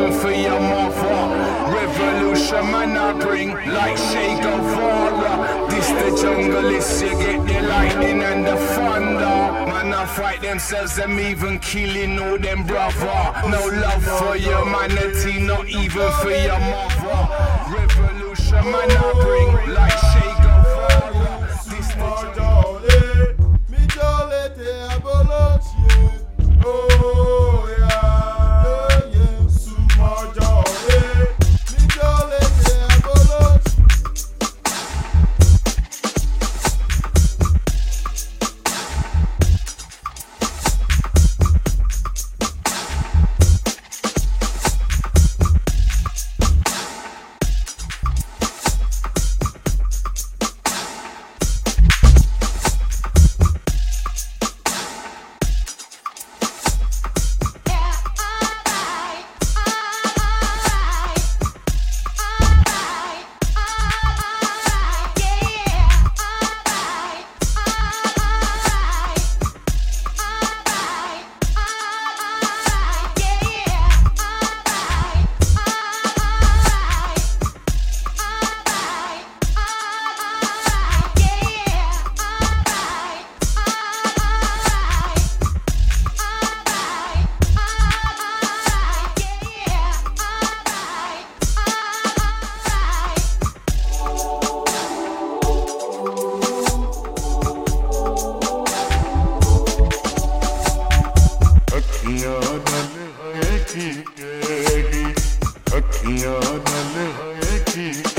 even for your mother. Revolution man I bring like Che Guevara. This the jungle, is you get the lightning and the thunder. Man I fight themselves, them even killing all them brother. No love for humanity, not even for your mother. Revolution man I bring like Che Guevara. This the jungle. Oh yeah, yeah, sumo jolly. Mi jolly te abolo. अखियां नल है की